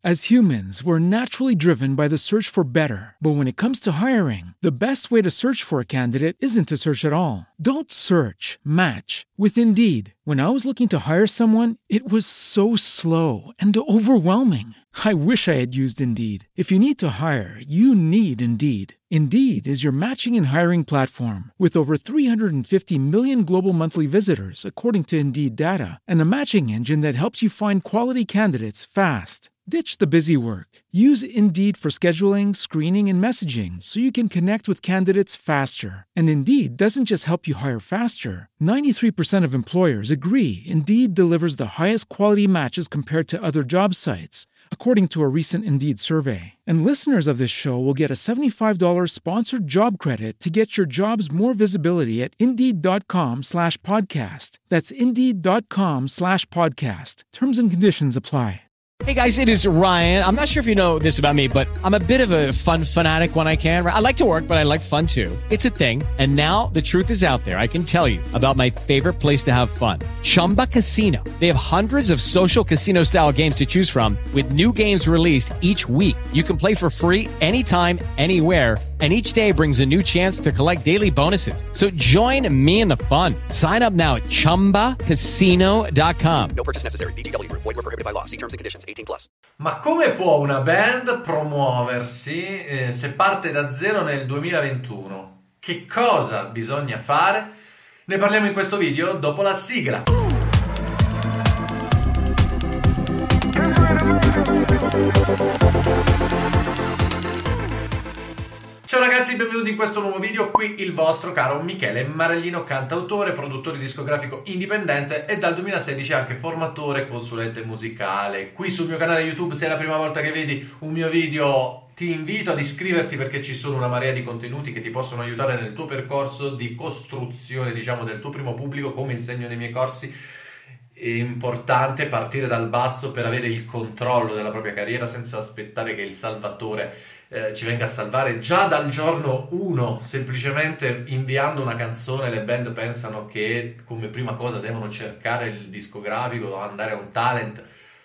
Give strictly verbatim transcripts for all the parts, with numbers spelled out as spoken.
As humans, we're naturally driven by the search for better. But when it comes to hiring, the best way to search for a candidate isn't to search at all. Don't search, match with Indeed. When I was looking to hire someone, it was so slow and overwhelming. I wish I had used Indeed. If you need to hire, you need Indeed. Indeed is your matching and hiring platform with over three hundred fifty million global monthly visitors, according to Indeed data, and a matching engine that helps you find quality candidates fast. Ditch the busy work. Use Indeed for scheduling, screening, and messaging so you can connect with candidates faster. And Indeed doesn't just help you hire faster. ninety-three percent of employers agree Indeed delivers the highest quality matches compared to other job sites, according to a recent Indeed survey. And listeners of this show will get a seventy-five dollars sponsored job credit to get your jobs more visibility at Indeed.com slash podcast. That's Indeed.com slash podcast. Terms and conditions apply. Hey guys, it is Ryan. I'm not sure if you know this about me, but I'm a bit of a fun fanatic when I can. I like to work, but I like fun too. It's a thing. And now the truth is out there. I can tell you about my favorite place to have fun. Chumba Casino. They have hundreds of social casino style games to choose from with new games released each week. You can play for free anytime, anywhere. And each day brings a new chance to collect daily bonuses. So join me in the fun. Sign up now at chumba casino dot com. No purchase necessary. V G W Group. Void where prohibited by law. See terms and conditions. eighteen plus. Ma come può una band promuoversi eh, se parte da zero nel duemilaventuno? Che cosa bisogna fare? Ne parliamo in questo video dopo la sigla. Ciao ragazzi, benvenuti in questo nuovo video. Qui il vostro caro Michele Maraglino, cantautore, produttore discografico indipendente e dal duemilasedici anche formatore e consulente musicale. Qui sul mio canale YouTube, se è la prima volta che vedi un mio video, ti invito ad iscriverti perché ci sono una marea di contenuti che ti possono aiutare nel tuo percorso di costruzione, diciamo, del tuo primo pubblico, come insegno nei miei corsi. È importante partire dal basso per avere il controllo della propria carriera senza aspettare che il salvatore eh, ci venga a salvare già dal giorno uno. Semplicemente inviando una canzone le band pensano che come prima cosa devono cercare il discografico, andare a un talent.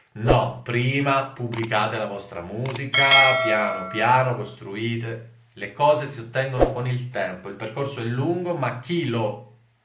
No, prima pubblicate la vostra musica, piano piano costruite. Le cose si ottengono con il tempo, il percorso è lungo, ma chi lo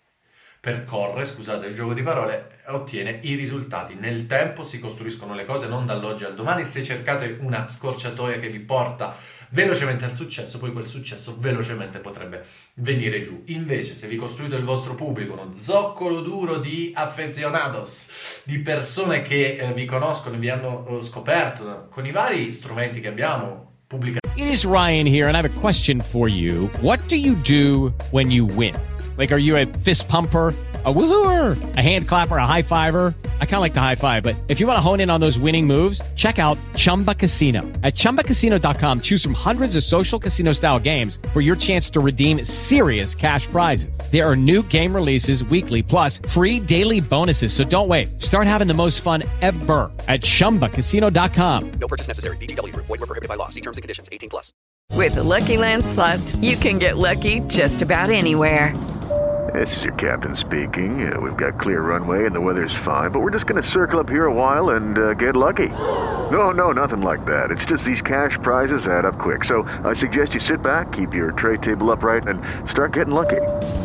percorre, scusate il gioco di parole, ottiene i risultati. Nel tempo si costruiscono le cose, non dall'oggi al domani. Se cercate una scorciatoia che vi porta velocemente al successo, poi quel successo velocemente potrebbe venire giù. Invece, se vi costruite il vostro pubblico, uno zoccolo duro di aficionados, di persone che eh, vi conoscono, vi hanno eh, scoperto con i vari strumenti che abbiamo, pubblicazioni. It is Ryan here, and I have a question for you. What do you do when you win? Like, are you a fist pumper, a woohooer, a hand clapper, a high fiver? I kind of like the high five, but if you want to hone in on those winning moves, check out Chumba Casino. At chumba casino dot com, choose from hundreds of social casino style games for your chance to redeem serious cash prizes. There are new game releases weekly, plus free daily bonuses. So don't wait. Start having the most fun ever at chumba casino dot com. No purchase necessary. V G W Group. Void where prohibited by law. See terms and conditions. eighteen plus. With the Lucky Land Slots, you can get lucky just about anywhere. This is your captain speaking. Uh, we've got clear runway and the weather's fine, but we're just going to circle up here a while and uh, get lucky. No, no, nothing like that. It's just these cash prizes add up quick. So I suggest you sit back, keep your tray table upright, and start getting lucky.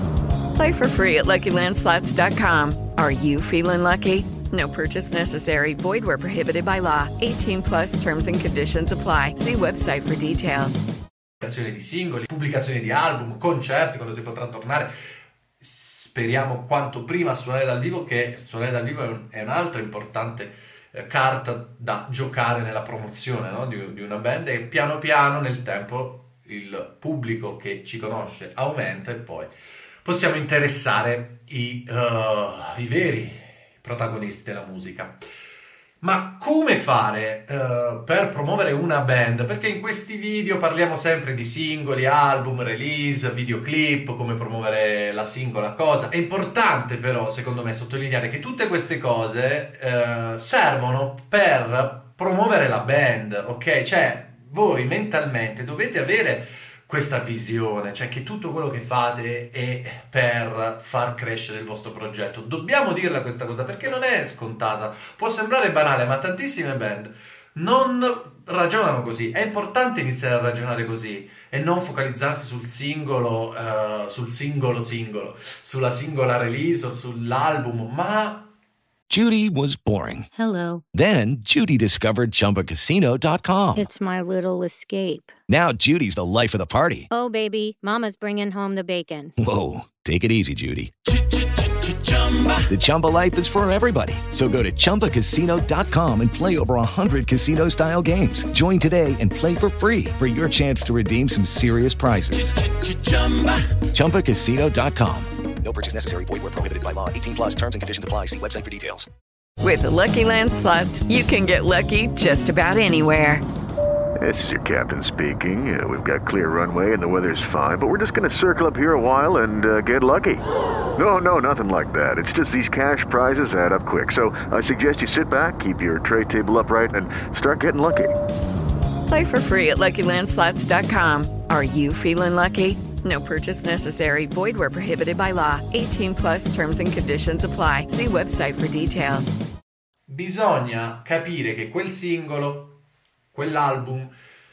Play for free at lucky land slots dot com. Are you feeling lucky? No purchase necessary. Void where prohibited by law. eighteen plus terms and conditions apply. See website for details. Pubblicazione di singoli, pubblicazione di album, concerti quando si potrà tornare. Speriamo quanto prima a suonare dal vivo, che suonare dal vivo è, un, è un'altra importante eh, carta da giocare nella promozione, no? di, di una band, e piano piano nel tempo il pubblico che ci conosce aumenta e poi possiamo interessare i, uh, i veri protagonisti della musica. Ma come fare uh, per promuovere una band? Perché in questi video parliamo sempre di singoli, album, release, videoclip, come promuovere la singola cosa. È importante però, secondo me, sottolineare che tutte queste cose uh, servono per promuovere la band, ok? Cioè, voi mentalmente dovete avere questa visione, cioè che tutto quello che fate è per far crescere il vostro progetto. Dobbiamo dirla questa cosa perché non è scontata, può sembrare banale, ma tantissime band non ragionano così. È importante iniziare a ragionare così e non focalizzarsi sul singolo, uh, sul singolo singolo, sulla singola release o sull'album, ma... Judy was boring. Hello. Then Judy discovered Chumba Casino dot com. It's my little escape. Now Judy's the life of the party. Oh, baby, mama's bringing home the bacon. Whoa, take it easy, Judy. The Chumba life is for everybody. So go to Chumba Casino dot com and play over one hundred casino-style games. Join today and play for free for your chance to redeem some serious prizes. Chumba Casino dot com. No purchase necessary. Void where prohibited by law. eighteen plus terms and conditions apply. See website for details. With the Lucky Land Slots, you can get lucky just about anywhere. This is your captain speaking. Uh, we've got clear runway and the weather's fine, but we're just going to circle up here a while and uh, get lucky. No, no, nothing like that. It's just these cash prizes add up quick. So I suggest you sit back, keep your tray table upright, and start getting lucky. Play for free at Lucky Land Slots dot com. Are you feeling lucky? No purchase necessary. Void where prohibited by law. eighteen plus terms and conditions apply. See website for details. Bisogna capire che quel singolo, quell'album,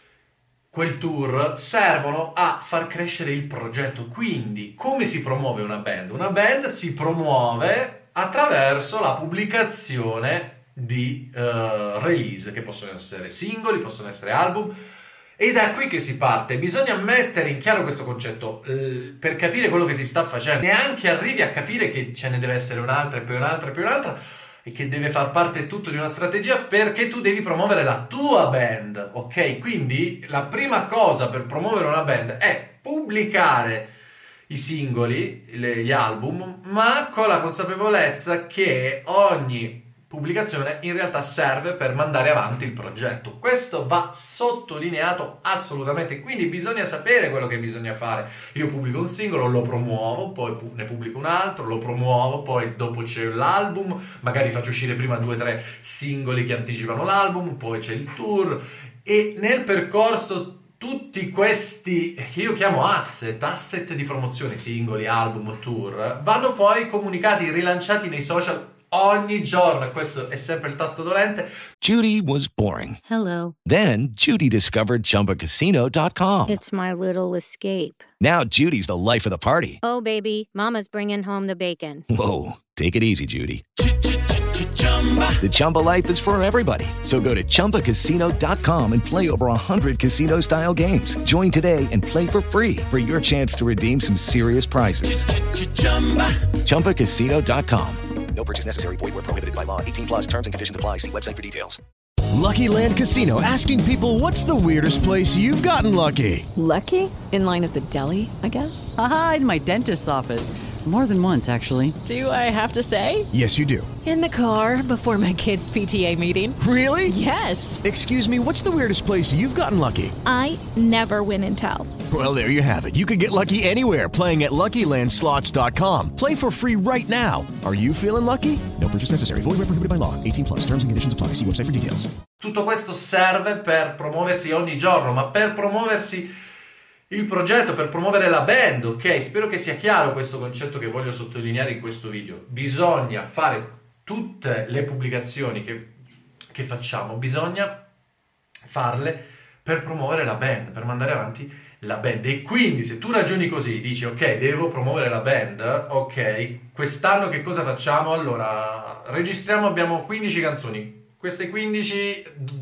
quel tour servono a far crescere il progetto. Quindi, come si promuove una band? Una band si promuove attraverso la pubblicazione di uh, release, che possono essere singoli, possono essere album. Ed è qui che si parte. Bisogna mettere in chiaro questo concetto eh, per capire quello che si sta facendo. Neanche arrivi a capire che ce ne deve essere un'altra e poi un'altra e poi un'altra e che deve far parte tutto di una strategia, perché tu devi promuovere la tua band, ok? Quindi la prima cosa per promuovere una band è pubblicare i singoli, le, gli album, ma con la consapevolezza che ogni pubblicazione in realtà serve per mandare avanti il progetto. Questo va sottolineato assolutamente, quindi bisogna sapere quello che bisogna fare. Io pubblico un singolo, lo promuovo, poi ne pubblico un altro, lo promuovo, poi dopo c'è l'album, magari faccio uscire prima due o tre singoli che anticipano l'album, poi c'è il tour, e nel percorso tutti questi, che io chiamo asset, asset di promozione, singoli, album, tour, vanno poi comunicati, rilanciati nei social ogni giorno. Questo è sempre il tasto dolente. Judy was boring. Hello. Then Judy discovered Chumba Casino dot com. It's my little escape. Now Judy's the life of the party. Oh, baby, mama's bringing home the bacon. Whoa, take it easy, Judy. The Chumba life is for everybody. So go to Chumba Casino dot com and play over one hundred casino-style games. Join today and play for free for your chance to redeem some serious prizes. Chumba Casino dot com. No purchase necessary. Void where prohibited by law. eighteen plus terms and conditions apply. See website for details. Lucky Land Casino, asking people, what's the weirdest place you've gotten lucky? Lucky? In line at the deli, I guess? Aha, in my dentist's office. More than once, actually. Do I have to say? Yes, you do. In the car before my kids' P T A meeting. Really? Yes. Excuse me, what's the weirdest place you've gotten lucky? I never win and tell. Well, there you have it. You can get lucky anywhere, playing at Lucky Land Slots dot com. Play for free right now. Are you feeling lucky? No purchase necessary. Void where prohibited by law. eighteen plus. Terms and conditions apply. See website for details. Tutto questo serve per promuoversi ogni giorno, ma per promuoversi il progetto, per promuovere la band, ok? Spero che sia chiaro questo concetto che voglio sottolineare in questo video. Bisogna fare tutte le pubblicazioni che, che facciamo, bisogna farle per promuovere la band, per mandare avanti la band. E quindi se tu ragioni così, dici ok, devo promuovere la band, ok, quest'anno che cosa facciamo? Allora, registriamo, abbiamo quindici canzoni, queste quindici,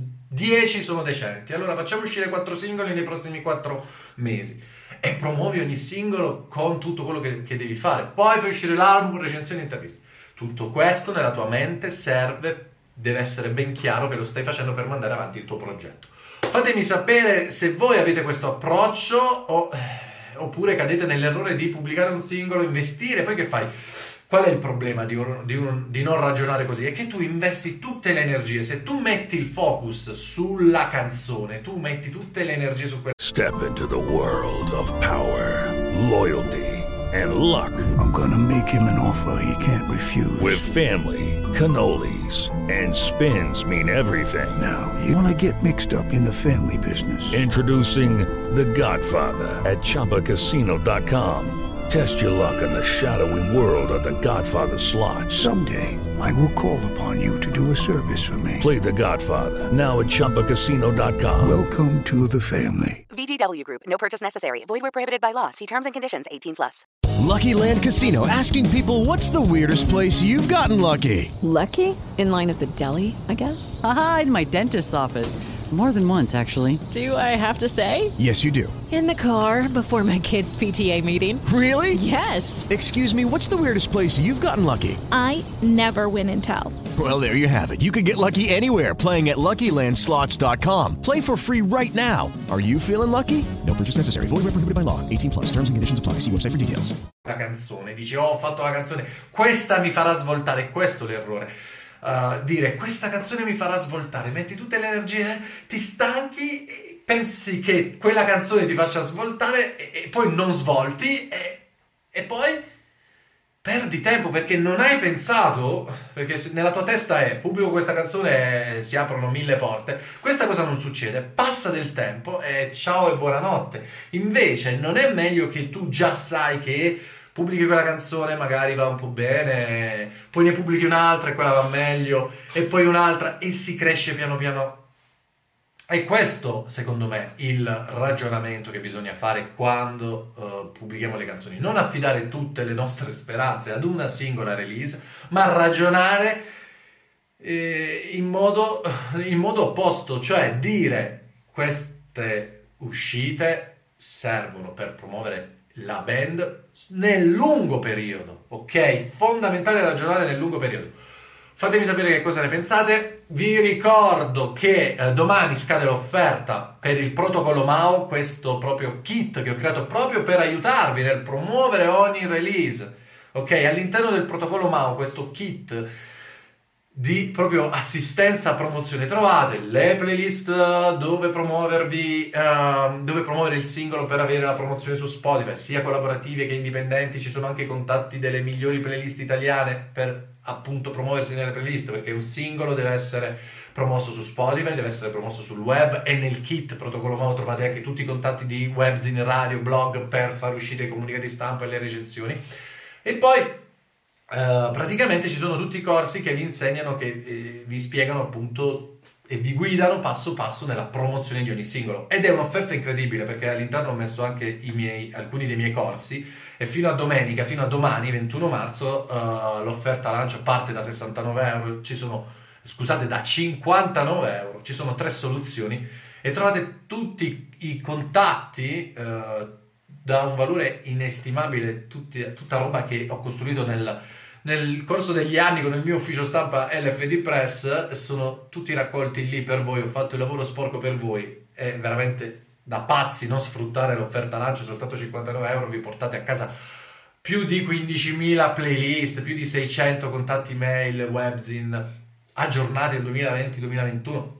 dieci sono decenti, allora facciamo uscire quattro singoli nei prossimi quattro mesi e promuovi ogni singolo con tutto quello che, che devi fare, poi fai uscire l'album, recensioni, interviste. Tutto questo nella tua mente serve, deve essere ben chiaro che lo stai facendo per mandare avanti il tuo progetto. Fatemi sapere se voi avete questo approccio o, eh, oppure cadete nell'errore di pubblicare un singolo, investire, poi che fai? Qual è il problema di, un, di, un, di non ragionare così? È che tu investi tutte le energie, se tu metti il focus sulla canzone, tu metti tutte le energie su quella. Step into the world of power, loyalty and luck. I'm gonna make him an offer he can't refuse. With family, cannolis and spins mean everything. Now, you wanna get mixed up in the family business. Introducing The Godfather at Chumba Casino dot com. Test your luck in the shadowy world of The Godfather slot. Someday, I will call upon you to do a service for me. Play The Godfather, now at Chumba Casino dot com. Welcome to the family. V G W Group. No purchase necessary. Void where prohibited by law. See terms and conditions. eighteen plus. Lucky Land Casino, asking people, what's the weirdest place you've gotten lucky? Lucky? In line at the deli, I guess? Aha, in my dentist's office. More than once, actually. Do I have to say? Yes, you do. In the car before my kids' P T A meeting. Really? Yes. Excuse me, what's the weirdest place you've gotten lucky? I never win and tell. Well, there you have it. You can get lucky anywhere, playing at Lucky Land Slots dot com. Play for free right now. Are you feeling lucky? No purchase necessary. Void where prohibited by law. eighteen plus. Terms and conditions apply. See website for details. La canzone, dici, oh, ho fatto la canzone, questa mi farà svoltare, questo è l'errore. Uh, dire, questa canzone mi farà svoltare, metti tutte le energie, ti stanchi, pensi che quella canzone ti faccia svoltare e, e poi non svolti e, e poi perdi tempo perché non hai pensato, perché nella tua testa è pubblico questa canzone e si aprono mille porte. Questa cosa non succede, passa del tempo e ciao e buonanotte. Invece non è meglio che tu già sai che pubblichi quella canzone, magari va un po' bene, poi ne pubblichi un'altra e quella va meglio, e poi un'altra e si cresce piano piano. È questo, secondo me, il ragionamento che bisogna fare quando uh, pubblichiamo le canzoni. Non affidare tutte le nostre speranze ad una singola release, ma ragionare eh, in modo, in modo opposto, cioè dire queste uscite servono per promuovere la band nel lungo periodo, ok? Fondamentale ragionare nel lungo periodo. Fatemi sapere che cosa ne pensate. Vi ricordo che eh, domani scade l'offerta per il protocollo M A O, questo proprio kit che ho creato proprio per aiutarvi nel promuovere ogni release, ok? All'interno del protocollo M A O, questo kit di proprio assistenza promozione, trovate le playlist dove promuovervi uh, dove promuovere il singolo per avere la promozione su Spotify, sia collaborative che indipendenti. Ci sono anche i contatti delle migliori playlist italiane per appunto promuoversi nelle playlist, perché un singolo deve essere promosso su Spotify, deve essere promosso sul web, e nel kit protocollo M A O trovate anche tutti i contatti di webzine, radio, blog per far uscire i comunicati stampa e le recensioni. E poi Uh, praticamente ci sono tutti i corsi che vi insegnano, che eh, vi spiegano appunto e vi guidano passo passo nella promozione di ogni singolo, ed è un'offerta incredibile perché all'interno ho messo anche i miei, alcuni dei miei corsi, e fino a domenica, fino a domani ventuno marzo uh, l'offerta lancio parte da sessantanove euro, ci sono, scusate, da cinquantanove euro, ci sono tre soluzioni e trovate tutti i contatti uh, da un valore inestimabile, tutti, tutta roba che ho costruito nel nel corso degli anni con il mio ufficio stampa L F D Press, sono tutti raccolti lì per voi. Ho fatto il lavoro sporco per voi, è veramente da pazzi non sfruttare l'offerta lancio. Soltanto cinquantanove euro vi portate a casa più di quindicimila playlist, più di seicento contatti mail, webzine aggiornati nel duemilaventi duemilaventuno,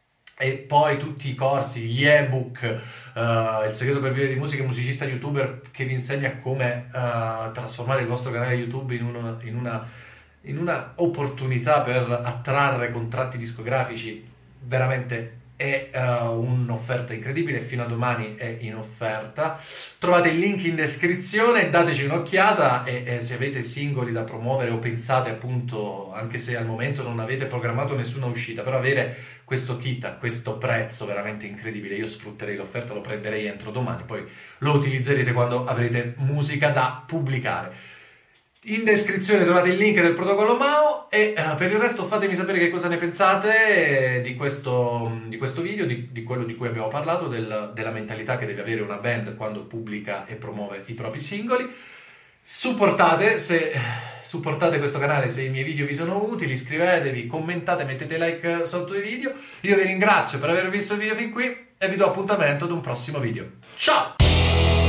e poi tutti i corsi, gli ebook, uh, il segreto per vivere di musica, musicista youtuber, che vi insegna come uh, trasformare il vostro canale YouTube in, uno, in, una, in una opportunità per attrarre contratti discografici. Veramente è uh, un'offerta incredibile, fino a domani è in offerta. Trovate il link in descrizione, dateci un'occhiata, e, e se avete singoli da promuovere o pensate appunto, anche se al momento non avete programmato nessuna uscita, però avere questo kit a questo prezzo veramente incredibile, io sfrutterei l'offerta, lo prenderei entro domani, poi lo utilizzerete quando avrete musica da pubblicare. In descrizione trovate il link del protocollo M A O, e uh, per il resto fatemi sapere che cosa ne pensate di questo, di questo video, di, di quello di cui abbiamo parlato, del, della mentalità che deve avere una band quando pubblica e promuove i propri singoli. Supportate, se, supportate questo canale se i miei video vi sono utili, iscrivetevi, commentate, mettete like sotto i video. Io vi ringrazio per aver visto il video fin qui e vi do appuntamento ad un prossimo video. Ciao!